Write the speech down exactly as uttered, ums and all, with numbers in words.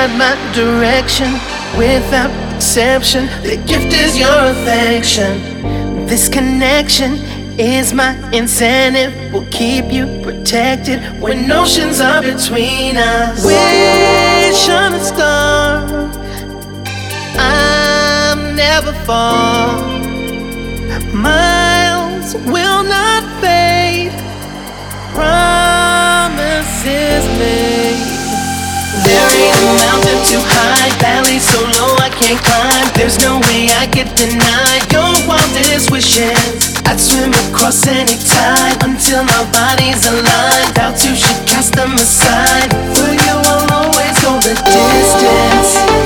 guide my direction without exception. The gift is your affection. This connection is my incentive. Will keep you protected when oceans are between us. Wish on a star, I'm never far. Miles will not fade. Promises made. There ain't a mountain too high, valley so low I can't climb. There's no way I could deny your wildest wishes. I'd swim across any tide until our bodies aligned. Doubt you should cast them aside. For you I'll always go the distance.